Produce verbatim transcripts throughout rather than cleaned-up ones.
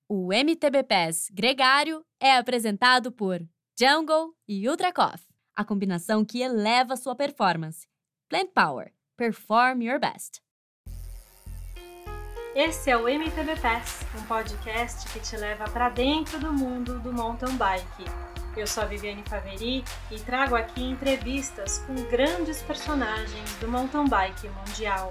O M T B Pass Gregário é apresentado por Jungle e Ultra Coffee, a combinação que eleva sua performance. Plant Power. Perform your best. Esse é o M T B Pass, um podcast que te leva para dentro do mundo do mountain bike. Eu sou a Viviane Faveri e trago aqui entrevistas com grandes personagens do mountain bike mundial.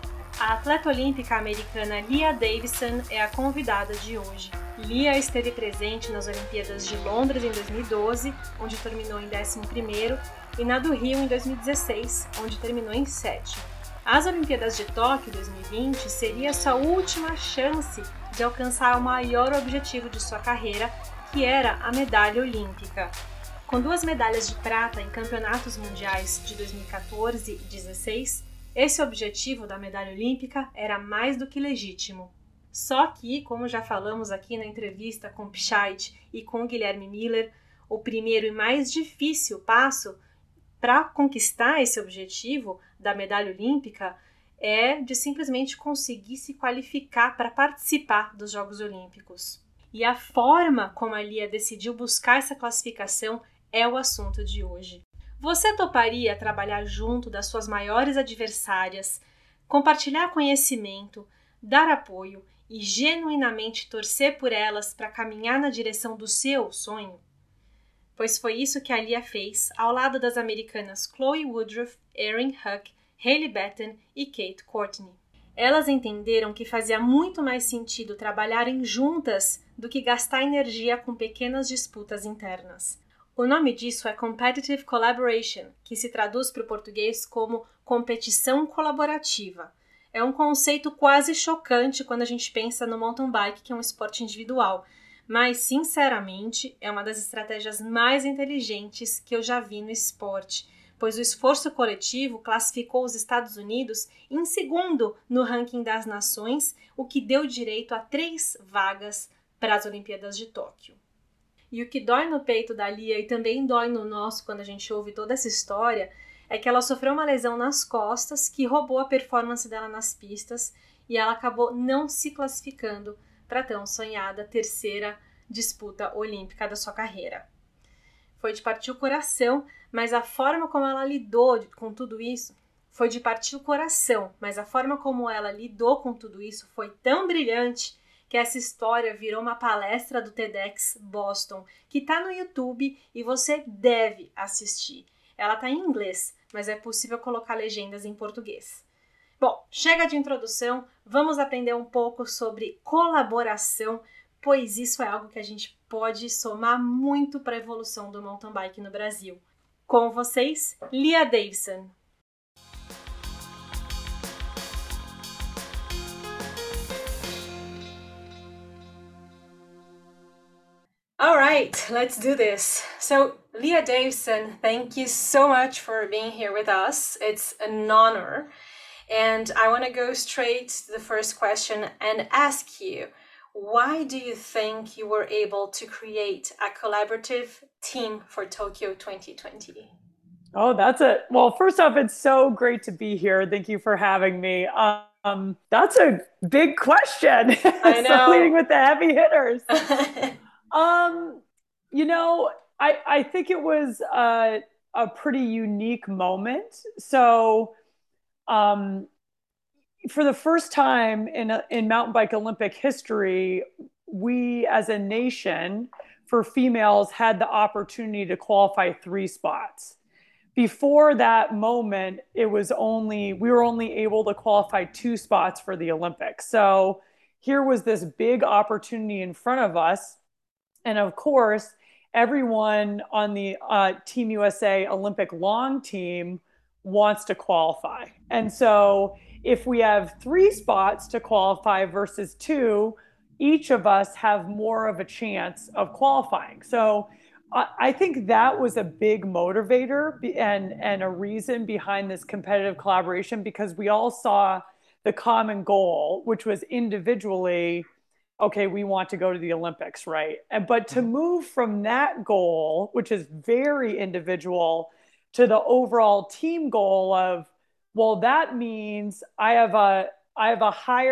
A atleta olímpica americana Lia Davidson é a convidada de hoje. Lia esteve presente nas Olimpíadas de Londres em dois mil e doze, onde terminou em décimo primeiro, e na do Rio em dois mil e dezesseis, onde terminou em sétimo. As Olimpíadas de Tóquio dois mil e vinte seria sua última chance de alcançar o maior objetivo de sua carreira, que era a medalha olímpica. Com duas medalhas de prata em campeonatos mundiais de dois mil e quatorze e dois mil e dezesseis, esse objetivo da medalha olímpica era mais do que legítimo. Só que, como já falamos aqui na entrevista com Pichait e com Guilherme Miller, o primeiro e mais difícil passo para conquistar esse objetivo da medalha olímpica é de simplesmente conseguir se qualificar para participar dos Jogos Olímpicos. E a forma como a Lia decidiu buscar essa classificação é o assunto de hoje. Você toparia trabalhar junto das suas maiores adversárias, compartilhar conhecimento, dar apoio e genuinamente torcer por elas para caminhar na direção do seu sonho? Pois foi isso que a Lia fez ao lado das americanas Chloe Woodruff, Erin Huck, Hailey Batten e Kate Courtney. Elas entenderam que fazia muito mais sentido trabalharem juntas do que gastar energia com pequenas disputas internas. O nome disso é Competitive Collaboration, que se traduz para o português como competição colaborativa. É um conceito quase chocante quando a gente pensa no mountain bike, que é um esporte individual, mas, sinceramente, é uma das estratégias mais inteligentes que eu já vi no esporte, pois o esforço coletivo classificou os Estados Unidos em segundo no ranking das nações, o que deu direito a três vagas para as Olimpíadas de Tóquio. E o que dói no peito da Lia e também dói no nosso quando a gente ouve toda essa história é que ela sofreu uma lesão nas costas que roubou a performance dela nas pistas e ela acabou não se classificando para a tão sonhada terceira disputa olímpica da sua carreira. Foi de partir o coração, mas a forma como ela lidou com tudo isso foi de partir o coração, mas a forma como ela lidou com tudo isso foi tão brilhante que essa história virou uma palestra do TEDx Boston, que está no YouTube e você deve assistir. Ela está em inglês, mas é possível colocar legendas em português. Bom, chega de introdução, vamos aprender um pouco sobre colaboração, pois isso é algo que a gente pode somar muito para a evolução do mountain bike no Brasil. Com vocês, Lia Davidson. All right, let's do this. So, Lia Davidson, thank you so much for being here with us. It's an honor. And I want to go straight to the first question and ask you, why do you think you were able to create a collaborative team for Tokyo twenty twenty? Oh, that's a, well, first off, it's so great to be here. Thank you for having me. Um, that's a big question. I know. So leading with the heavy hitters. Um, you know, I, I think it was a, a pretty unique moment. So, um, for the first time in, a, in mountain bike Olympic history, we as a nation for females had the opportunity to qualify three spots. Before that moment, it was only, we were only able to qualify two spots for the Olympics. So here was this big opportunity in front of us. And of course, everyone on the uh, Team U S A Olympic long team wants to qualify. And so if we have three spots to qualify versus two, each of us have more of a chance of qualifying. So I, I think that was a big motivator and, and a reason behind this competitive collaboration, because we all saw the common goal, which was individually, okay, we want to go to the Olympics, right? And, but to move from that goal, which is very individual, to the overall team goal of, well, that means I have a I have a higher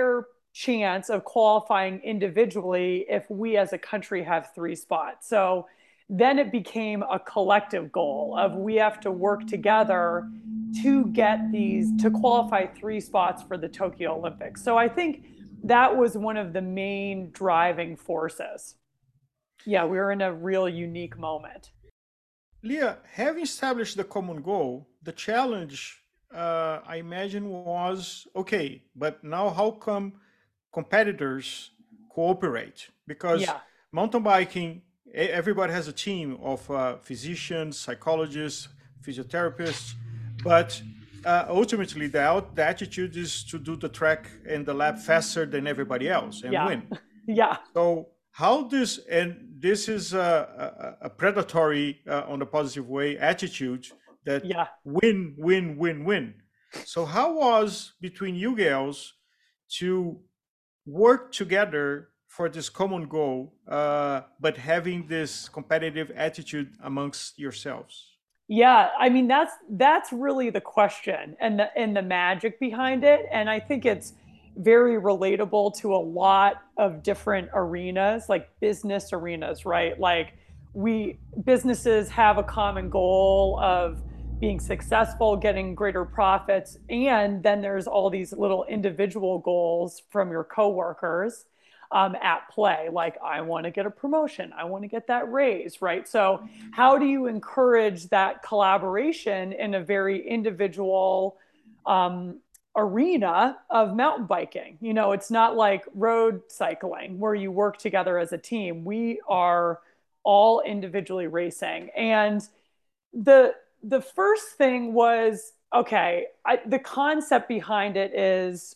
chance of qualifying individually if we as a country have three spots. So then it became a collective goal of we have to work together to get these, to qualify three spots for the Tokyo Olympics. So I think that was one of the main driving forces. Yeah, we were in a real unique moment. Lia, having established the common goal, the challenge, uh, I imagine, was, okay, but now how come competitors cooperate? Because yeah. mountain biking, everybody has a team of uh, physicians, psychologists, physiotherapists, but uh, ultimately the, out, the attitude is to do the track and the lap faster than everybody else and yeah. win. yeah. So how this, and this is a, a, a predatory, uh, on the positive way, attitude that yeah. win, win, win, win. So how was between you girls to work together for this common goal, uh, but having this competitive attitude amongst yourselves? Yeah, I mean, that's that's really the question and the and the magic behind it. And I think it's very relatable to a lot of different arenas, like business arenas, right? Like we businesses have a common goal of being successful, getting greater profits, and then there's all these little individual goals from your coworkers um, at play. Like, I want to get a promotion, I want to get that raise, right? So how do you encourage that collaboration in a very individual um, arena of mountain biking? You know, it's not like road cycling where you work together as a team. We are all individually racing. And the the first thing was, okay, I, the concept behind it is,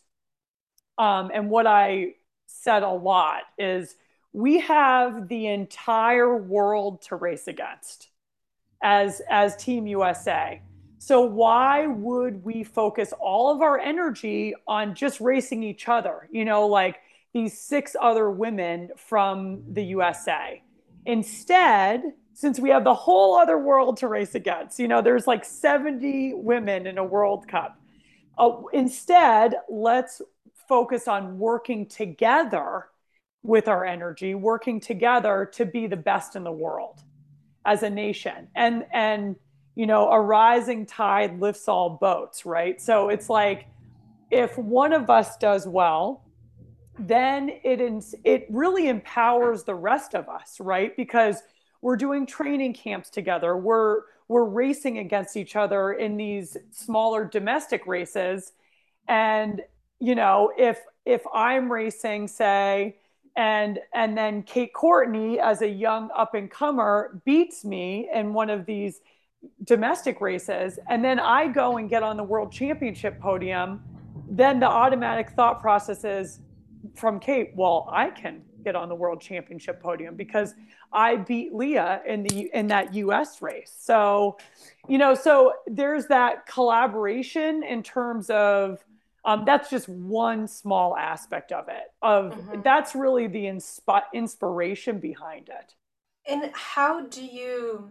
um, and what I said a lot is, we have the entire world to race against as, as Team U S A. So why would we focus all of our energy on just racing each other? You know, like these six other women from the U S A. Instead, since we have the whole other world to race against, you know, there's like seventy women in a World Cup. Uh, instead, let's focus on working together with our energy, working together to be the best in the world as a nation. And, and, you know, a rising tide lifts all boats, right? So it's like, if one of us does well, then it, it really empowers the rest of us, right? Because we're doing training camps together. We're, we're racing against each other in these smaller domestic races. And, you know, if, if I'm racing, say, and, and then Kate Courtney, as a young up and comer, beats me in one of these domestic races, and then I go and get on the world championship podium, then the automatic thought process is from Kate, well, I can get on the world championship podium because I beat Lia in the in that U S race. So, you know, so there's that collaboration in terms of um, that's just one small aspect of it. Of mm-hmm. That's really the insp- inspiration behind it. And how do you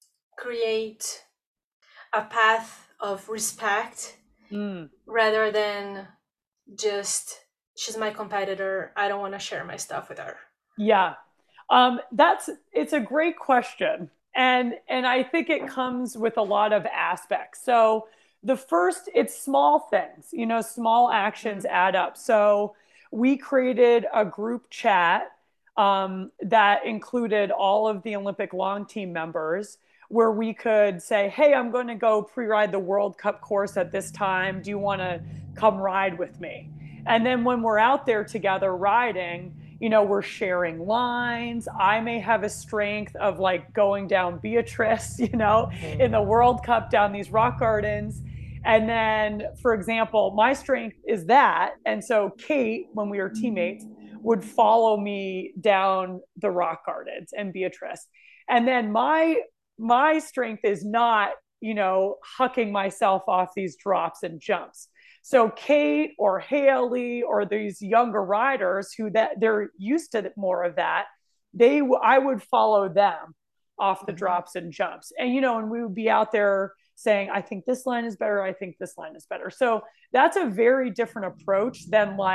create a path of respect mm. rather than just, she's my competitor, I don't want to share my stuff with her? Yeah, um, that's, it's a great question. And, and I think it comes with a lot of aspects. So the first, it's small things, you know, small actions mm-hmm. add up. So we created a group chat um, that included all of the Olympic long team members, where we could say, hey, I'm going to go pre-ride the World Cup course at this time. Do you want to come ride with me? And then when we're out there together riding, you know, we're sharing lines. I may have a strength of like going down Beatrice, you know, mm-hmm. in the World Cup down these rock gardens. And then, for example, my strength is that. And so Kate, when we were teammates, would follow me down the rock gardens and Beatrice. And then my my strength is not, you know, hucking myself off these drops and jumps. So Kate or Haley or these younger riders who that they're used to more of that, they I would follow them off the mm-hmm. drops and jumps. And, you know, and we would be out there saying, I think this line is better. I think this line is better. So that's a very different approach than like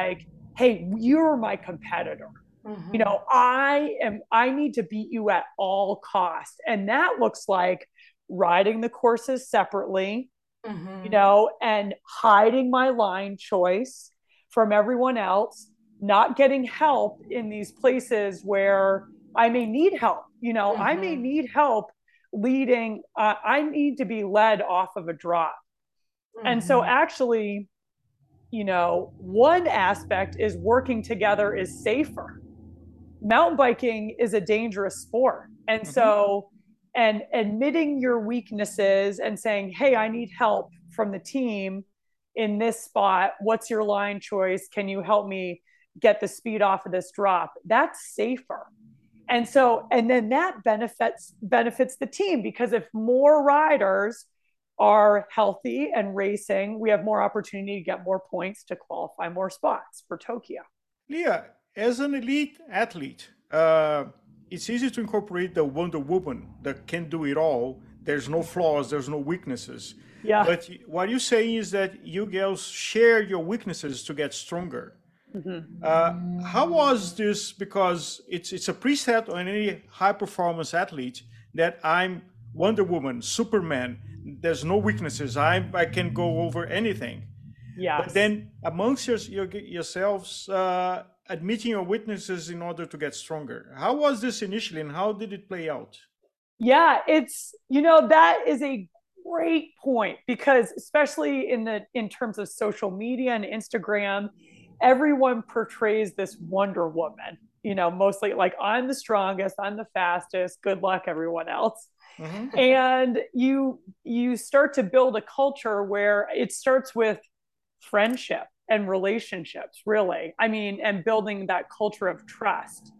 hey, you're my competitor. Mm-hmm. You know, I am, I need to beat you at all costs. And that looks like riding the courses separately, mm-hmm. you know, and hiding my line choice from everyone else, not getting help in these places where I may need help. You know, mm-hmm. I may need help leading. Uh, I need to be led off of a drop. Mm-hmm. And so actually, you know, one aspect is working together is safer. Mountain biking is a dangerous sport. And mm-hmm. so, and admitting your weaknesses and saying, hey, I need help from the team in this spot. What's your line choice? Can you help me get the speed off of this drop? That's safer. And so, and then that benefits benefits the team, because if more riders are healthy and racing, we have more opportunity to get more points to qualify more spots for Tokyo. Leah, as an elite athlete, uh, it's easy to incorporate the Wonder Woman that can do it all. There's no flaws, there's no weaknesses. Yeah. But what you're saying is that you girls share your weaknesses to get stronger. Mm-hmm. Uh, how was this? Because it's it's a preset on any high performance athlete that I'm Wonder Woman, Superman. There's no weaknesses. I I can go over anything. Yeah. But then amongst your, your, yourselves, uh, admitting your weaknesses in order to get stronger. How was this initially, and how did it play out? Yeah, it's, you know, that is a great point, because especially in the in terms of social media and Instagram, everyone portrays this Wonder Woman, you know, mostly like, I'm the strongest, I'm the fastest, good luck everyone else. Mm-hmm. And you you start to build a culture where it starts with friendship and relationships, really. I mean, and building that culture of trust.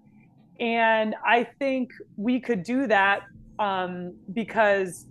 And I think we could do that um, because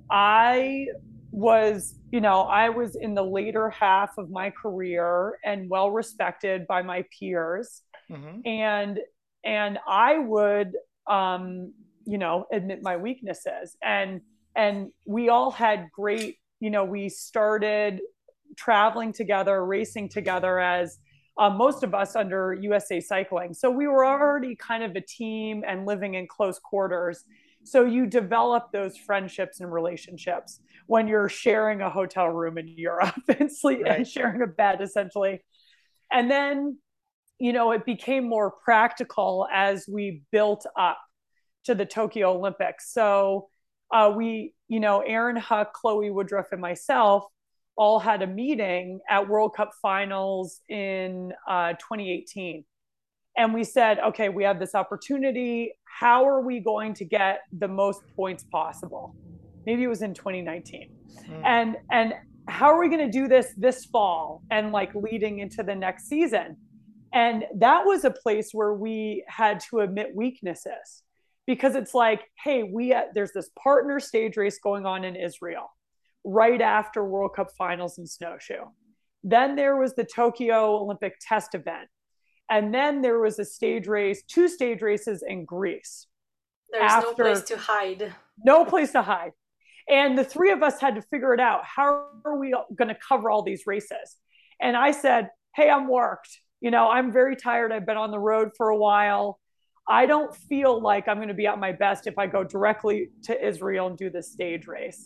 I was, you know, I was in the later half of my career and well respected by my peers. Mm-hmm. And and I would, um, you know, admit my weaknesses. And and we all had great, you know, we started traveling together, racing together as uh, most of us under U S A Cycling. So we were already kind of a team and living in close quarters. So you develop those friendships and relationships when you're sharing a hotel room in Europe and sleep right. and sharing a bed, essentially. And then, you know, it became more practical as we built up to the Tokyo Olympics. So uh, we, you know, Aaron Huck, Chloe Woodruff, and myself all had a meeting at World Cup finals in uh, twenty eighteen. And we said, okay, we have this opportunity. How are we going to get the most points possible? Maybe it was in twenty nineteen. Mm. And, and how are we going to do this this fall and like leading into the next season? And that was a place where we had to admit weaknesses, because it's like, hey, we, uh, there's this partner stage race going on in Israel right after World Cup finals in snowshoe. Then there was the Tokyo Olympic test event. And then there was a stage race, two stage races in Greece. There's after, no place to hide. No place to hide. And the three of us had to figure it out. How are we going to cover all these races? And I said, hey, I'm worked. You know, I'm very tired. I've been on the road for a while. I don't feel like I'm going to be at my best if I go directly to Israel and do this stage race.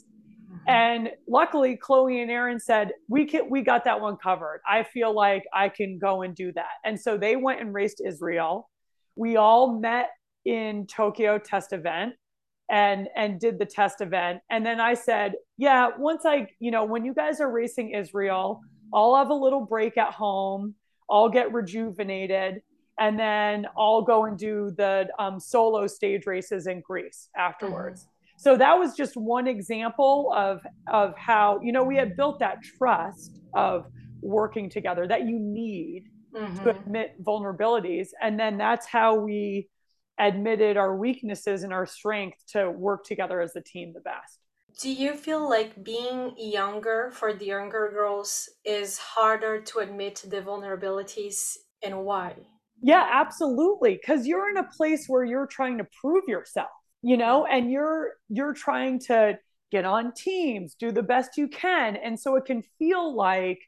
And luckily, Chloe and Aaron said, we can, we got that one covered. I feel like I can go and do that. And so they went and raced Israel. We all met in Tokyo test event and, and did the test event. And then I said, yeah, once I, you know, when you guys are racing Israel, I'll have a little break at home. I'll get rejuvenated. And then I'll go and do the um, solo stage races in Greece afterwards. Mm-hmm. So that was just one example of, of how, you know, we had built that trust of working together that you need mm-hmm. to admit vulnerabilities. And then that's how we admitted our weaknesses and our strength to work together as a team the best. Do you feel like being younger for the younger girls is harder to admit the vulnerabilities, and why? Yeah, absolutely. Because you're in a place where you're trying to prove yourself. You know, and you're you're trying to get on teams, do the best you can. And so it can feel like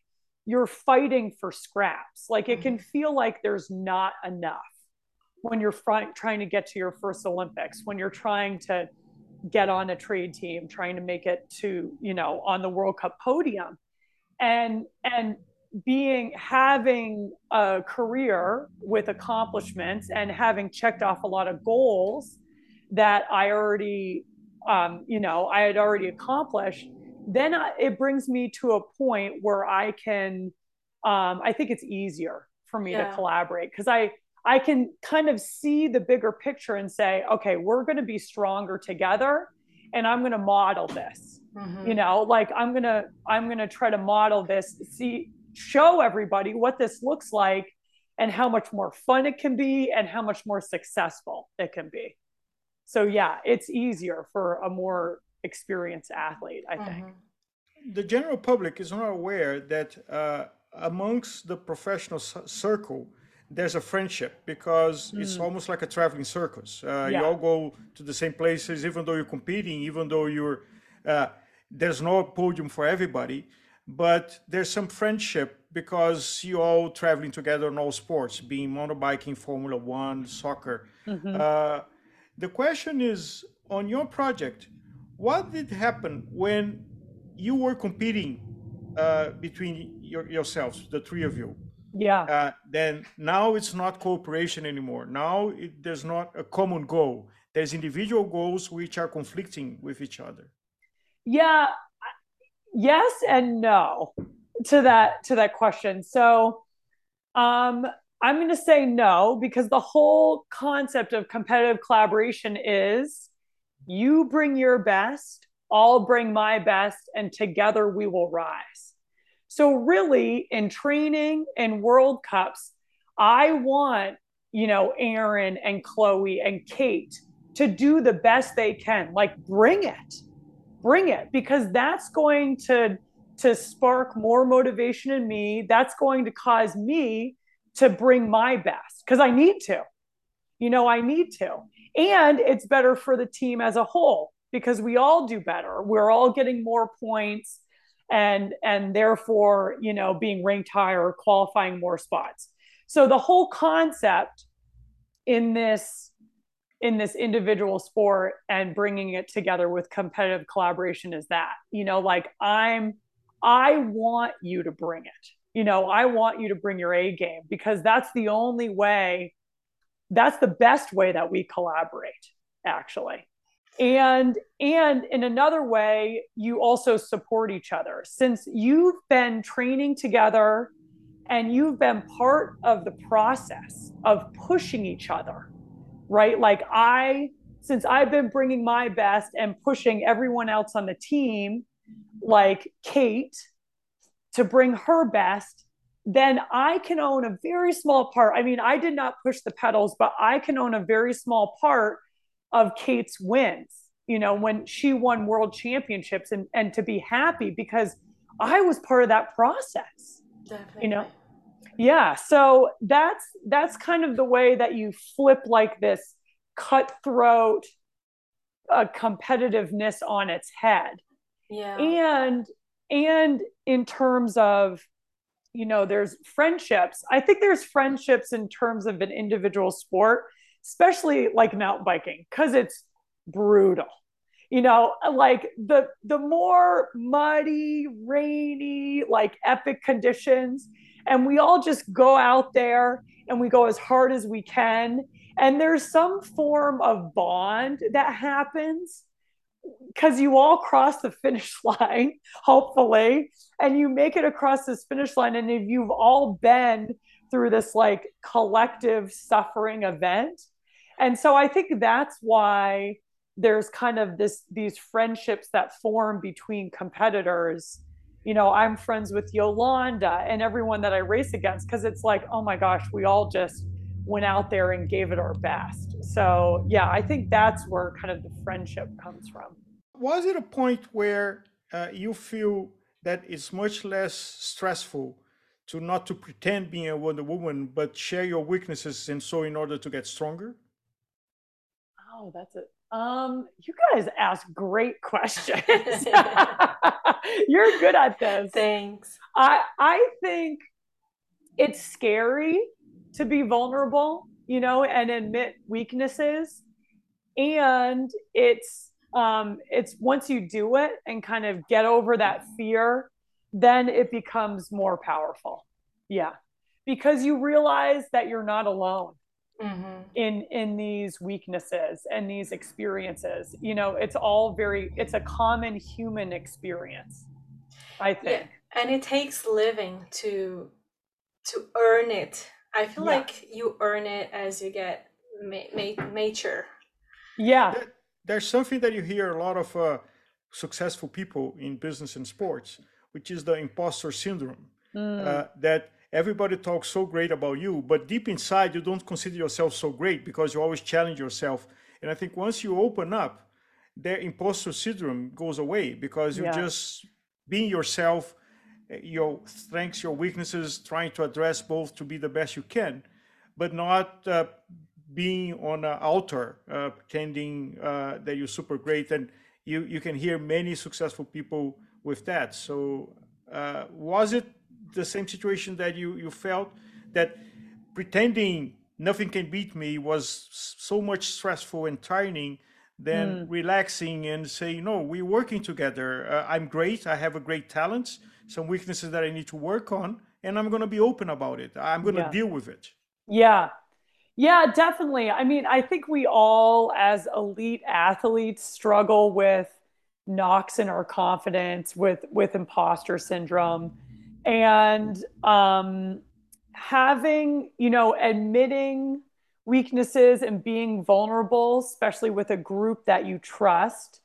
you're fighting for scraps. Like it can feel like there's not enough when you're fr- trying to get to your first Olympics, when you're trying to get on a trade team, trying to make it to, you know, on the World Cup podium. And, and being, having a career with accomplishments and having checked off a lot of goals that I already, um, you know, I had already accomplished, then I, it brings me to a point where I can, um, I think it's easier for me Yeah. to collaborate because I, I can kind of see the bigger picture and say, okay, we're going to be stronger together and I'm going to model this, Mhm. you know, like I'm going to, I'm going to try to model this, see, show everybody what this looks like and how much more fun it can be and how much more successful it can be. So yeah, it's easier for a more experienced athlete, I think. Mhm. The general public is not aware that uh, amongst the professional c- circle, there's a friendship because it's Mm. almost like a traveling circus. Uh, You Yeah. all go to the same places, even though you're competing, even though you're, uh, there's no podium for everybody, but there's some friendship because you all traveling together in all sports, being motorbiking, Formula One, soccer. Mhm. Uh, the question is on your project, what did happen when you were competing uh, between your, yourselves, the three of you? Yeah. Uh, then now it's not cooperation anymore. Now it, there's not a common goal. There's individual goals which are conflicting with each other. Yeah. Yes and no to that, to that question. So, um, I'm going to say no because the whole concept of competitive collaboration is you bring your best, I'll bring my best, and together we will rise. So, really, in training and World Cups, I want, you know, Aaron and Chloe and Kate to do the best they can. Like, bring it, bring it, because that's going to to spark more motivation in me. That's going to cause me to bring my best because I need to. You know, I need to. And it's better for the team as a whole because we all do better. We're all getting more points and and therefore, you know, being ranked higher, qualifying more spots. So the whole concept in this in this individual sport and bringing it together with competitive collaboration is that, you know, like I'm I want you to bring it. You know, I want you to bring your A game because that's the only way, that's the best way that we collaborate, actually. And and in another way, you also support each other. Since you've been training together and you've been part of the process of pushing each other, right? Like I, since I've been bringing my best and pushing everyone else on the team, like Kate, to bring her best, then I can own a very small part. I mean, I did not push the pedals, but I can own a very small part of Kate's wins, you know, when she won world championships and, and to be happy because I was part of that process. Definitely. You know? Yeah. So that's, that's kind of the way that you flip like this cutthroat uh, competitiveness on its head. Yeah. And, and in terms of, you know, there's friendships. I think there's friendships in terms of an individual sport, especially like mountain biking, because it's brutal. You know, like the the more muddy, rainy, like epic conditions, and we all just go out there and we go as hard as we can. And there's some form of bond that happens because you all cross the finish line, hopefully, and you make it across this finish line. And if you've all been through this like collective suffering event. And so I think that's why there's kind of this, these friendships that form between competitors. You know, I'm friends with Yolanda and everyone that I race against because it's like, oh my gosh, we all just went out there and gave it our best. So yeah, I think that's where kind of the friendship comes from. Was it a point where uh, you feel that it's much less stressful to not to pretend being a Wonder Woman, but share your weaknesses and so in order to get stronger? Oh, that's it. Um, you guys ask great questions. You're good at this. Thanks. I I think it's scary to be vulnerable, you know, and admit weaknesses. And it's um it's once you do it and kind of get over that fear, then it becomes more powerful. Yeah. Because you realize that you're not alone. Mm-hmm. in in these weaknesses and these experiences. You know, it's all very, it's a common human experience, I think. Yeah. And it takes living to to earn it. I feel yeah. like you earn it as you get ma- ma- mature. Yeah. There, there's something that you hear a lot of uh, successful people in business and sports, which is the imposter syndrome. Mm. Uh, that everybody talks so great about you, but deep inside, you don't consider yourself so great because you always challenge yourself. And I think once you open up, their imposter syndrome goes away because you're yeah. just being yourself, your strengths, your weaknesses, trying to address both to be the best you can, but not uh, being on an altar, uh, pretending uh, that you're super great. And you, you can hear many successful people with that. So uh, was it the same situation that you, you felt, that pretending nothing can beat me was so much stressful and tiring than mm. relaxing and saying, no, we're working together. Uh, I'm great. I have a great talent, some weaknesses that I need to work on, and I'm going to be open about it. I'm going to yeah. deal with it. Yeah. Yeah, definitely. I mean, I think we all as elite athletes struggle with knocks in our confidence, with, with imposter syndrome. And um, having, you know, admitting weaknesses and being vulnerable, especially with a group that you trust,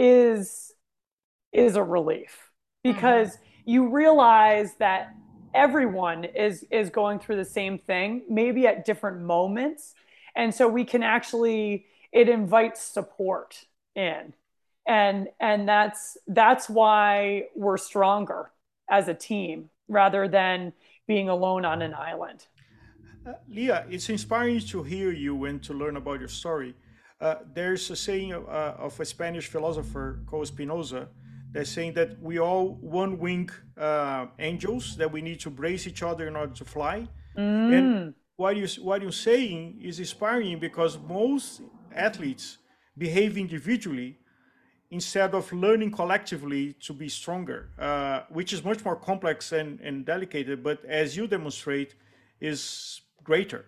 is is a relief, because mm-hmm. you realize that everyone is is going through the same thing, maybe at different moments, and so we can actually, it invites support in, and and that's that's why we're stronger as a team rather than being alone on an island. Uh, Leah, it's inspiring to hear you and to learn about your story. Uh, there's a saying of, uh, of a Spanish philosopher called Spinoza that's saying that we all one-wing uh, angels, that we need to brace each other in order to fly. Mm. And what, you, what you're saying is inspiring, because most athletes behave individually instead of learning collectively to be stronger, uh, which is much more complex and, and delicate, but as you demonstrate, is greater.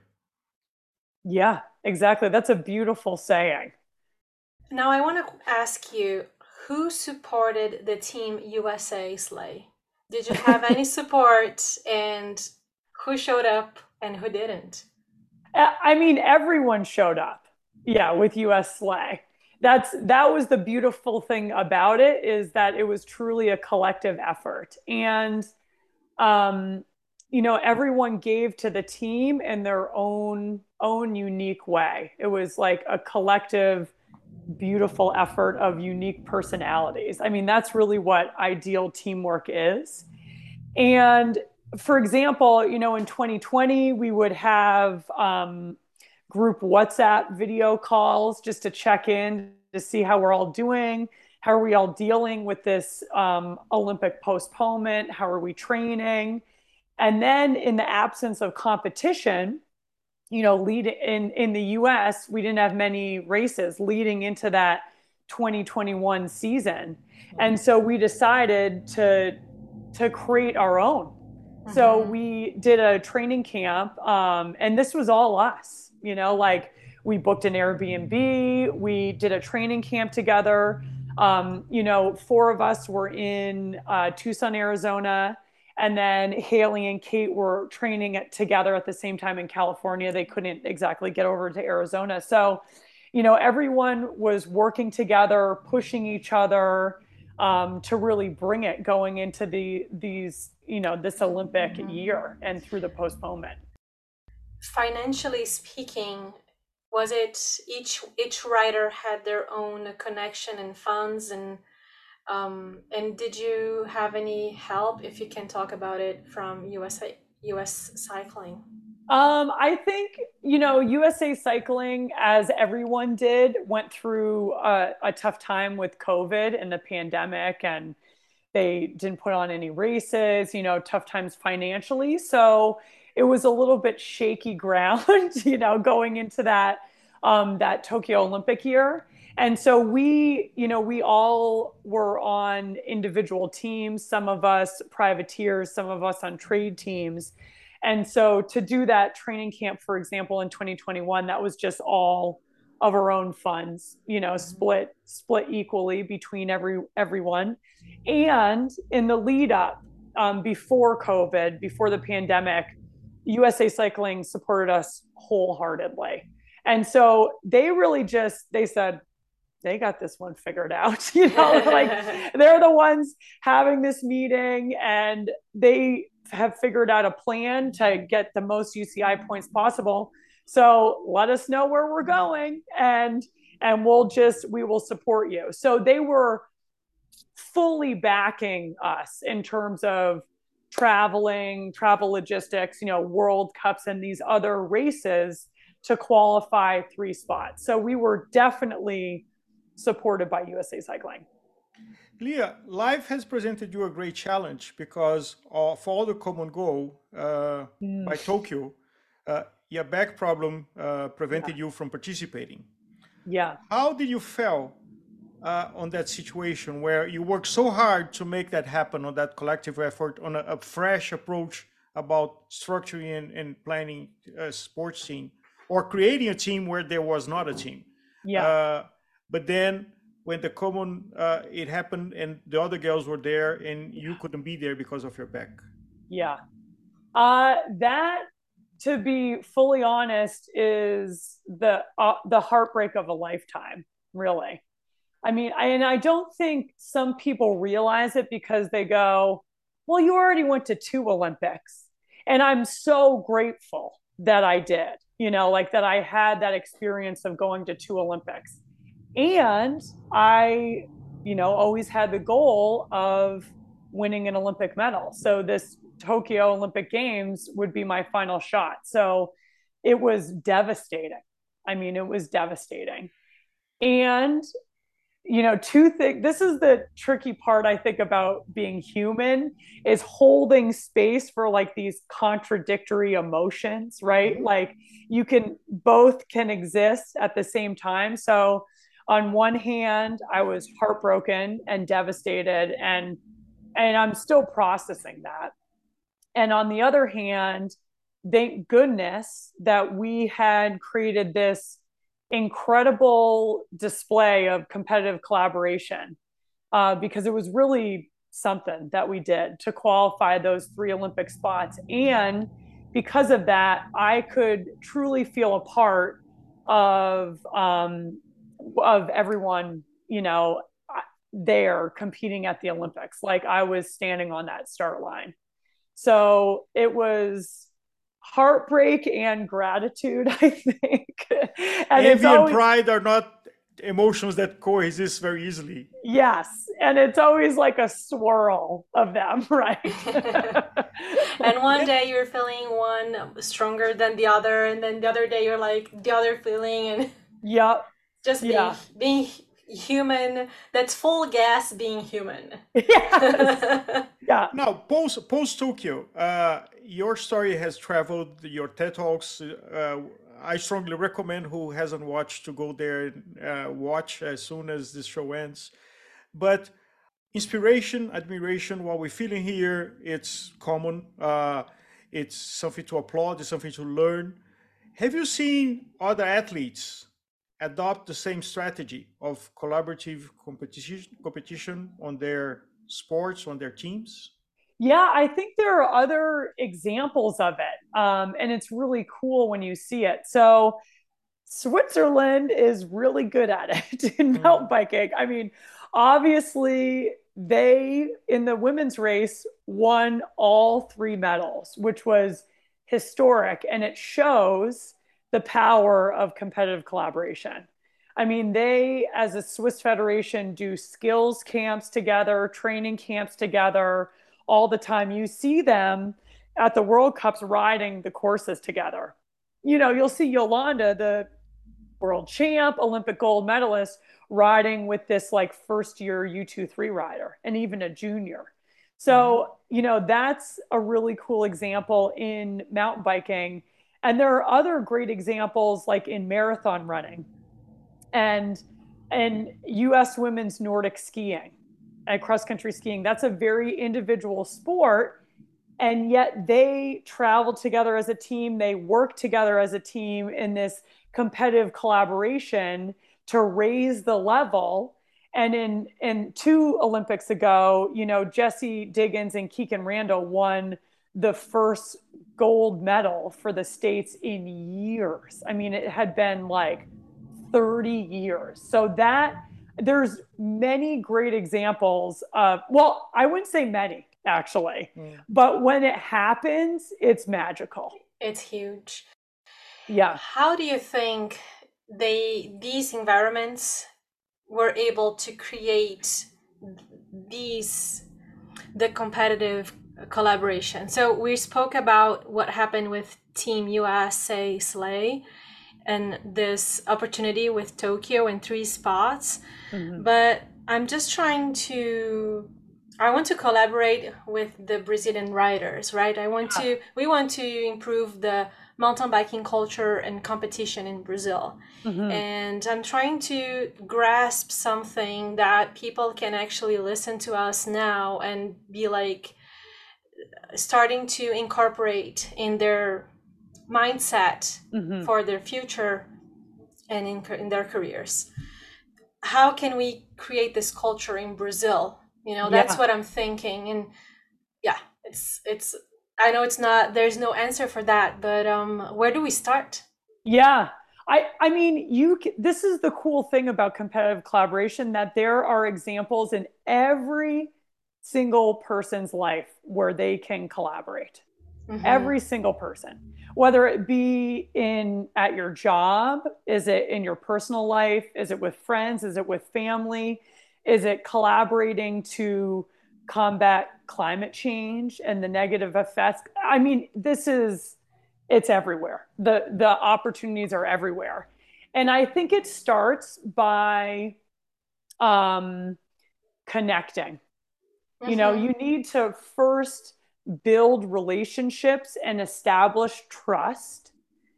Yeah, exactly. That's a beautiful saying. Now I want to ask you, who supported the Team U S A sleigh? Did you have any support, and who showed up and who didn't? I mean, everyone showed up. Yeah, with U S Sleigh. That's that was the beautiful thing about it, is that it was truly a collective effort, and um, you know, everyone gave to the team in their own own unique way. It was like a collective, beautiful effort of unique personalities. I mean, that's really what ideal teamwork is. And for example, you know, in twenty twenty, we would have um, group WhatsApp video calls just to check in, to see how we're all doing. How are we all dealing with this um, Olympic postponement? How are we training? And then in the absence of competition, you know, lead in, in the U S, we didn't have many races leading into that twenty twenty-one season. And so we decided to, to create our own. Mm-hmm. So we did a training camp, um, and this was all us, you know, like we booked an Airbnb, we did a training camp together. Um, you know, four of us were in uh, Tucson, Arizona. And then Haley and Kate were training it together at the same time in California. They couldn't exactly get over to Arizona. So, you know, everyone was working together, pushing each other um, to really bring it going into the these, you know, this Olympic year and through the postponement. Financially speaking, was it each each rider had their own connection and funds, and Um, and did you have any help, if you can talk about it, from U S A, U S Cycling? Um, I think, you know, U S A Cycling, as everyone did, went through a, a tough time with COVID and the pandemic, and they didn't put on any races, you know, tough times financially. So it was a little bit shaky ground, you know, going into that um, that Tokyo Olympic year. And so we, you know, we all were on individual teams, some of us privateers, some of us on trade teams. And so to do that training camp, for example, in twenty twenty-one, that was just all of our own funds, you know, split split equally between every everyone. And in the lead up, um, before COVID, before the pandemic, U S A Cycling supported us wholeheartedly. And so they really just, they said, they got this one figured out, you know, like they're the ones having this meeting, and they have figured out a plan to get the most U C I points possible. So let us know where we're going, and and we'll just, we will support you. So they were fully backing us in terms of traveling, travel logistics, you know, World Cups and these other races to qualify three spots. So we were definitely supported by U S A Cycling. Leah, life has presented you a great challenge because of all the common goal uh, mm. by Tokyo, uh, your back problem uh, prevented yeah. you from participating. Yeah. How did you feel uh, on that situation where you worked so hard to make that happen, on that collective effort, on a, a fresh approach about structuring and, and planning a sports team, or creating a team where there was not a team? Yeah. Uh, but then when the common, uh, it happened and the other girls were there and you couldn't be there because of your back. Yeah. Uh, that, to be fully honest, is the, uh, the heartbreak of a lifetime, really. I mean, I, and I don't think some people realize it because they go, well, you already went to two Olympics. And I'm so grateful that I did, you know, like that I had that experience of going to two Olympics. And I, you know, always had the goal of winning an Olympic medal. So this Tokyo Olympic Games would be my final shot. So it was devastating. I mean, it was devastating. And, you know, two things, this is the tricky part, I think, about being human, is holding space for like these contradictory emotions, right? Mm-hmm. Like you can, both can exist at the same time. So on one hand, I was heartbroken and devastated, and and I'm still processing that. And on the other hand, thank goodness that we had created this incredible display of competitive collaboration, uh, because it was really something that we did to qualify those three Olympic spots. And because of that, I could truly feel a part of um, of everyone, you know, there competing at the Olympics. Like I was standing on that start line. So it was heartbreak and gratitude, I think. And envy always, and pride are not emotions that coexist very easily. Yes. And it's always like a swirl of them, right? And one day you're feeling one stronger than the other, and then the other day you're like the other feeling, and yep. Just being, yeah. being human. That's full gas being human. Yes. Yeah. Now, post post Tokyo, uh, your story has traveled. Your TED Talks. Uh, I strongly recommend who hasn't watched to go there and uh, watch as soon as this show ends. But inspiration, admiration, what we're feeling here, it's common. Uh, it's something to applaud. It's something to learn. Have you seen other athletes adopt the same strategy of collaborative competition competition on their sports, on their teams? Yeah, I think there are other examples of it. Um, and it's really cool when you see it. So Switzerland is really good at it in mm. mountain biking. I mean, obviously they, in the women's race, won all three medals, which was historic. And it shows the power of competitive collaboration. I mean, they, as a Swiss federation, do skills camps together, training camps together all the time. You see them at the World Cups riding the courses together. You know, you'll see Yolanda, the world champ, Olympic gold medalist, riding with this like first year U twenty-three rider and even a junior. So, mm-hmm. you know, that's a really cool example in mountain biking. And there are other great examples like in marathon running and and U S women's Nordic skiing and cross country skiing. That's a very individual sport. And yet they travel together as a team. They work together as a team in this competitive collaboration to raise the level. And in, in two Olympics ago, you know, Jessie Diggins and Keegan Randall won the first gold medal for the States in years. I mean, it had been like thirty years. So that there's many great examples of, well, I wouldn't say many actually, mm. but when it happens, it's magical. It's huge. Yeah. How do you think they these environments were able to create these the competitive collaboration? So we spoke about what happened with Team U S A Sleigh and this opportunity with Tokyo in three spots. Mm-hmm. But I'm just trying to, I want to collaborate with the Brazilian riders, right? I want to, we want to improve the mountain biking culture and competition in Brazil. Mm-hmm. And I'm trying to grasp something that people can actually listen to us now and be like, starting to incorporate in their mindset mm-hmm. for their future and in, in their careers. How can we create this culture in Brazil? You know, that's yeah. what I'm thinking. And yeah, it's, it's, I know it's not, there's no answer for that, but um, where do we start? Yeah. I, I mean, you, this is the cool thing about competitive collaboration, that there are examples in every single person's life where they can collaborate. Mm-hmm. Every single person, whether it be in at your job, is it in your personal life, is it with friends, is it with family, is it collaborating to combat climate change and the negative effects? I mean, this is, it's everywhere. The the opportunities are everywhere. And I think it starts by um, connecting. Mm-hmm. You know, you need to first build relationships and establish trust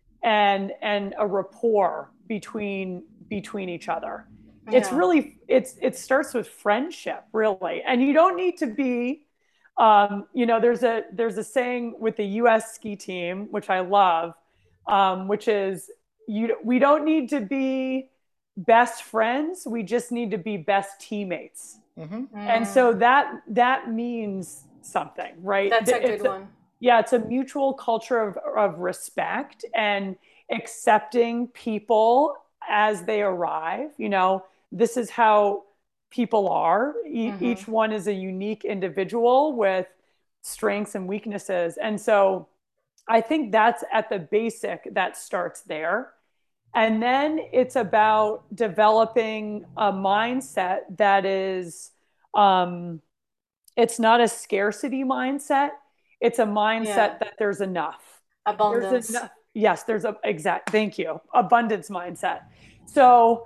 and and a rapport between between each other. Yeah. It's really it's it starts with friendship, really. And you don't need to be um, you know, there's a there's a saying with the U S ski team, which I love, um, which is you we don't need to be best friends, we just need to be best teammates. Mm-hmm. And so that that means something, right? That's a it's good one. A, yeah, it's a mutual culture of, of respect and accepting people as they arrive. You know, this is how people are. E- mm-hmm. Each one is a unique individual with strengths and weaknesses. And so I think that's at the basic, that starts there. And then it's about developing a mindset that is, um, it's not a scarcity mindset. It's a mindset yeah. that there's enough. Abundance. There's enough. Yes, there's a exact. Thank you. Abundance mindset. So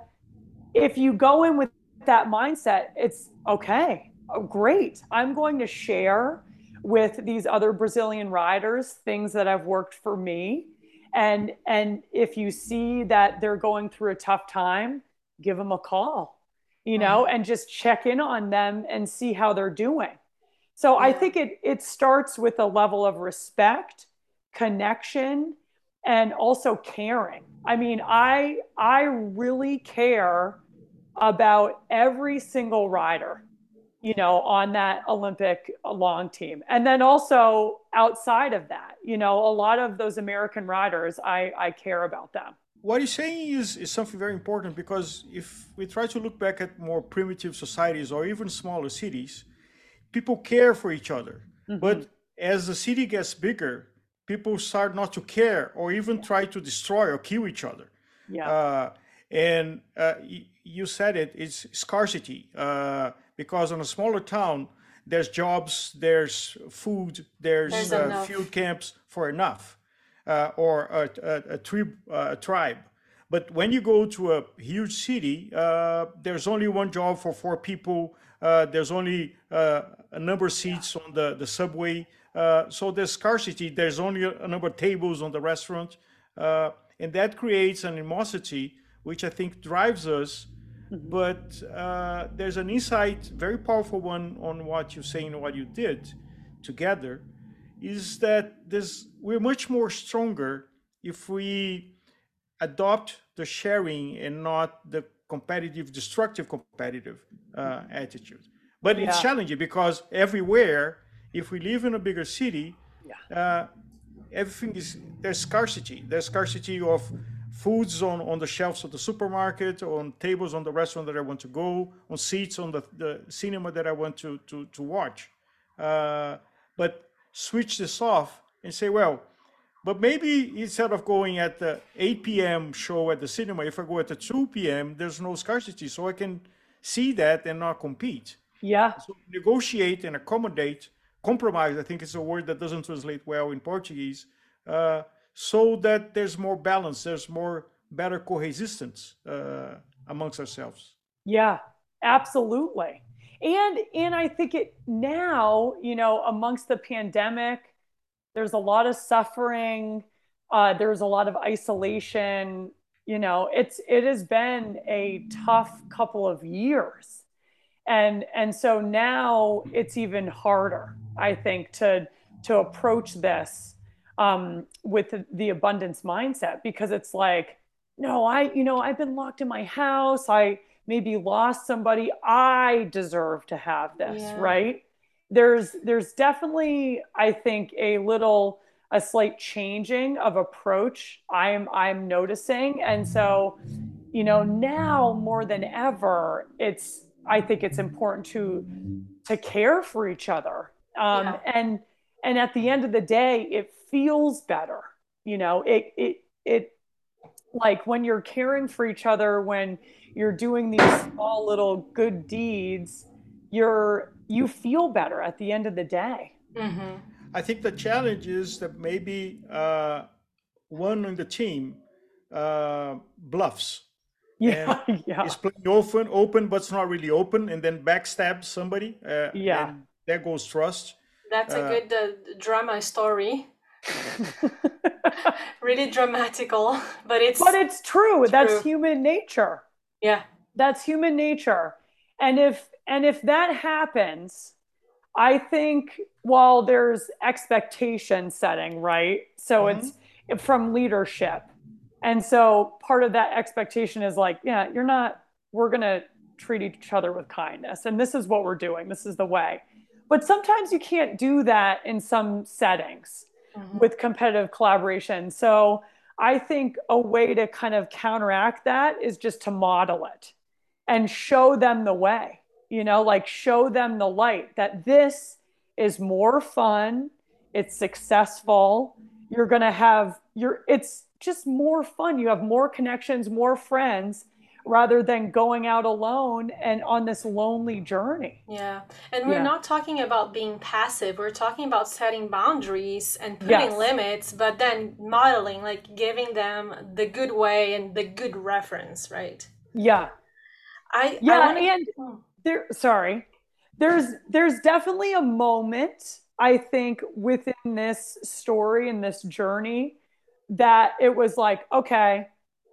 if you go in with that mindset, it's okay. Oh, great. I'm going to share with these other Brazilian riders things that have worked for me. And, and if you see that they're going through a tough time, give them a call, you know, mm-hmm. and just check in on them and see how they're doing. So yeah. I think it it starts with a level of respect, connection, and also caring. I mean, I I really care about every single rider, you know, on that Olympic long team. And then also outside of that, you know, a lot of those American riders, I, I care about them. What you're saying is, is something very important, because if we try to look back at more primitive societies or even smaller cities, people care for each other. Mm-hmm. But as the city gets bigger, people start not to care or even try to destroy or kill each other. Yeah. Uh, and uh, y- you said it, it's scarcity. Uh, because on a smaller town, there's jobs, there's food, there's, There's uh, enough. field camps for enough, uh, or a, a, a, tri- uh, a tribe. But when you go to a huge city, uh, there's only one job for four people. Uh, there's only uh, a number of seats on the, the subway. Uh, so there's scarcity. There's only a, a number of tables on the restaurant. Uh, and that creates an animosity, which I think drives us. But uh, there's an insight, very powerful one, on what you're saying and what you did together, is that there's, we're much more stronger if we adopt the sharing and not the competitive, destructive competitive uh, attitude. But it's Yeah. challenging because everywhere, if we live in a bigger city, uh, everything is, there's scarcity. There's scarcity of foods on, on the shelves of the supermarket, on tables on the restaurant that I want to go, on seats on the, the cinema that I want to, to, to watch. Uh, but switch this off and say, well, but maybe instead of going at the eight p.m. show at the cinema, if I go at the two p.m., there's no scarcity. So I can see that and not compete. Yeah. So negotiate and accommodate, compromise, I think it's a word that doesn't translate well in Portuguese, uh, so that there's more balance, there's more better coexistence uh, amongst ourselves. Yeah, absolutely. And and I think it now, you know, amongst the pandemic, there's a lot of suffering, uh, there's a lot of isolation. You know, it's it has been a tough couple of years. And and so now it's even harder, I think, to to approach this um, with the, the abundance mindset, because it's like, no, I, you know, I've been locked in my house. I maybe lost somebody. I deserve to have this, Yeah. right? There's there's definitely, I think, a little a slight changing of approach I'm I'm noticing. And so, you know, now more than ever, it's I think it's important to to care for each other. Um, Yeah. and and at the end of the day, it feels better. You know, it it it like when you're caring for each other, when you're doing these small little good deeds, you're you feel better at the end of the day. Mm-hmm. I think the challenge is that maybe uh, one on the team uh, bluffs. Yeah, And yeah, is playing open, open, but it's not really open, and then backstab somebody. Uh, Yeah. And there goes trust. That's a Uh, good uh, drama story. Really dramatical, but it's but it's true. That's True. human nature. yeah. That's human nature. And if and if that happens, I think while there's expectation setting, right? So Mhm. it's from leadership. And so part of that expectation is like, yeah, you're not, we're going to treat each other with kindness. And this is what we're doing. This is the way. But sometimes you can't do that in some settings Mhm. with competitive collaboration. So I think a way to kind of counteract that is just to model it and show them the way, you know, like show them the light that this is more fun. It's successful. You're going to have your, it's just more fun. You have more connections, more friends, rather than going out alone and on this lonely journey. Yeah. And we're Yeah. not talking about being passive. We're talking about setting boundaries and putting Yes. limits, but then modeling, like giving them the good way and the good reference, right? Yeah. I Yeah. I wanna, And Oh, there, sorry, there's, there's definitely a moment, I think, within this story and this journey that it was like, okay,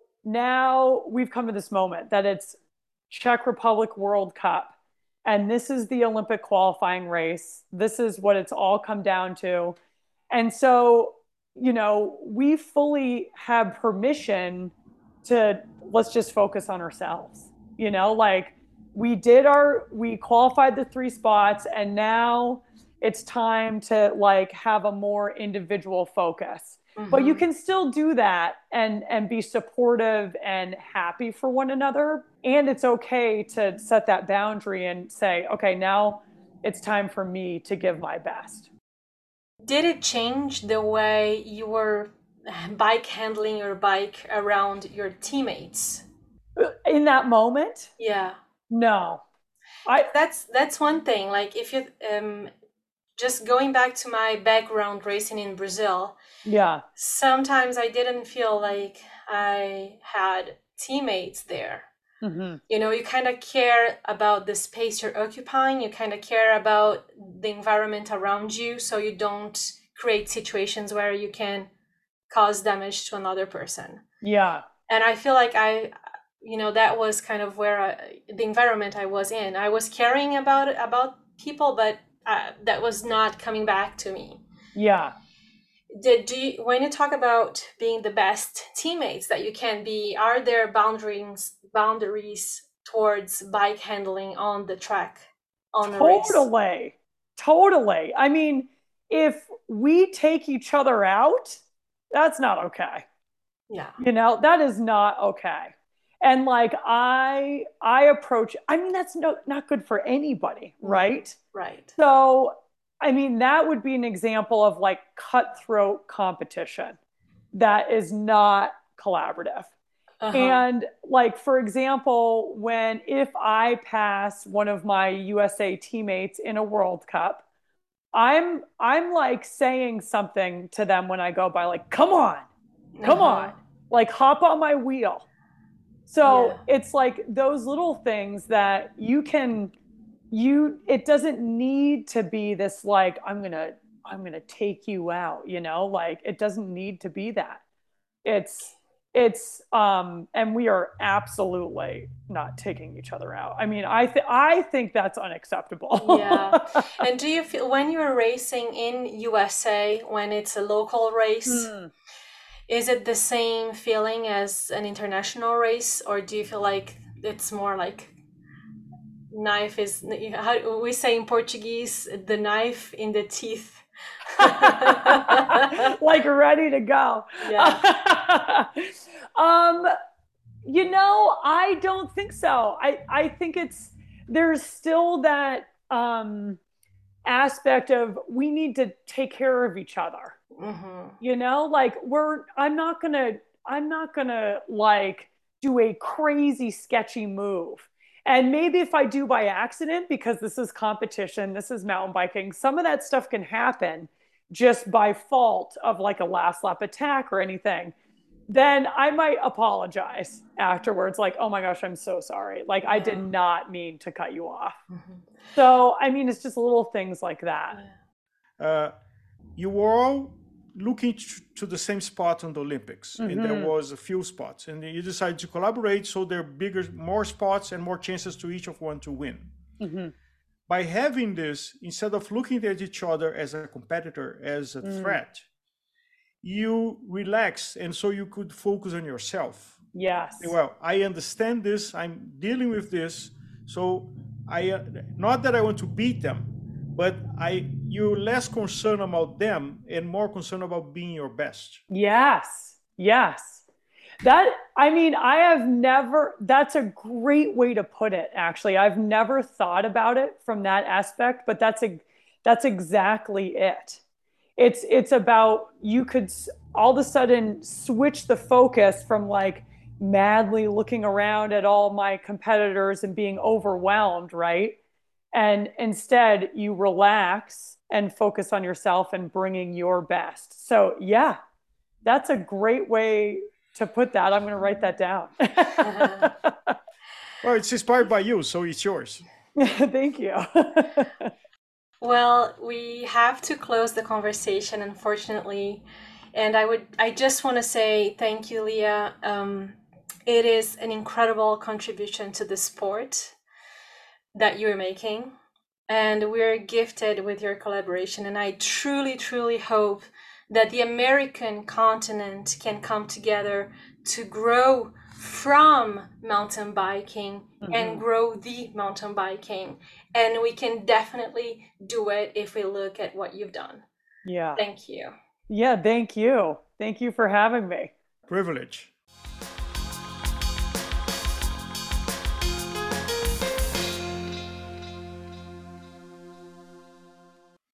now we've come to this moment that it's Czech Republic World Cup, and this is the Olympic qualifying race. This is what it's all come down to. And so, you know, we fully have permission to let's just focus on ourselves. You know, like we did our, we qualified the three spots, and now it's time to like have a more individual focus. But you mhm. can still do that and and be supportive and happy for one another. And it's okay to set that boundary and say, okay, now it's time for me to give my best. Did it change the way you were bike handling your bike around your teammates? In that moment, Yeah. no. I, that's that's one thing. Like if you um, just going back to my background racing in Brazil, yeah. sometimes I didn't feel like I had teammates there. Mm-hmm. You know, you kind of care about the space you're occupying. You kind of care about the environment around you, so you don't create situations where you can cause damage to another person. Yeah. And I feel like I, you know, that was kind of where I, the environment I was in. I was caring about about people, but uh, that was not coming back to me. Yeah. Did do you, when you talk about being the best teammates that you can be, are there boundaries boundaries towards bike handling on the track, on the race? Totally. Totally. I mean, if we take each other out, that's not okay. Yeah. You know, that is not okay. And like I I approach, I mean, that's no not good for anybody, right? Right. So I mean, that would be an example of like cutthroat competition that is not collaborative. Uh-huh. And like, for example, when if I pass one of my U S A teammates in a World Cup, I'm I'm like saying something to them when I go by, like, come on, come Uh-huh. on, like hop on my wheel. So Yeah. it's like those little things that you can you it doesn't need to be this like i'm gonna i'm gonna take you out, you know, like it doesn't need to be that. it's it's um and we are absolutely not taking each other out. I mean, i th- i think that's unacceptable. Yeah. And do you feel when you're racing in U S A, when it's a local race, Hmm. is it the same feeling as an international race, or do you feel like it's more like knife is, how we say in Portuguese, the knife in the teeth? Like ready to go. Yeah. um you know, I don't think so. I I think it's there's still that um aspect of we need to take care of each other. Mm-hmm. You know, like we're I'm not gonna I'm not gonna like do a crazy sketchy move. And maybe if I do by accident, because this is competition, this is mountain biking, some of that stuff can happen just by fault of like a last lap attack or anything. Then I might apologize afterwards, like, oh my gosh, I'm so sorry. Like, I did not mean to cut you off. Mm-hmm. So, I mean, it's just little things like that. Uh, you were all looking to the same spot on the Olympics, mm-hmm. and there was a few spots, and you decided to collaborate, so there are bigger, more spots and more chances to each of one to win. Mm-hmm. By having this, instead of looking at each other as a competitor, as a mm. threat, you relax, and so you could focus on yourself. Yes. Well, I understand this, I'm dealing with this, so I uh, not that I want to beat them, but I you're less concerned about them and more concerned about being your best. Yes. Yes. That, I mean, I have never, that's a great way to put it, actually. I've never thought about it from that aspect, but that's a, that's exactly it. It's, it's about, you could all of a sudden switch the focus from like madly looking around at all my competitors and being overwhelmed, right? And instead you relax and focus on yourself and bringing your best. So yeah, that's a great way to put that. I'm going to write that down. Well, it's inspired by you, so it's yours. Thank you. Well, we have to close the conversation, unfortunately. And I would, I just want to say thank you, Leah. Um, it is an incredible contribution to the sport that you're making. And we're gifted with your collaboration. And I truly, truly hope that the American continent can come together to grow from mountain biking mm-hmm. and grow the mountain biking. And we can definitely do it if we look at what you've done. Yeah. Thank you. Yeah, thank you. Thank you for having me. Privilege.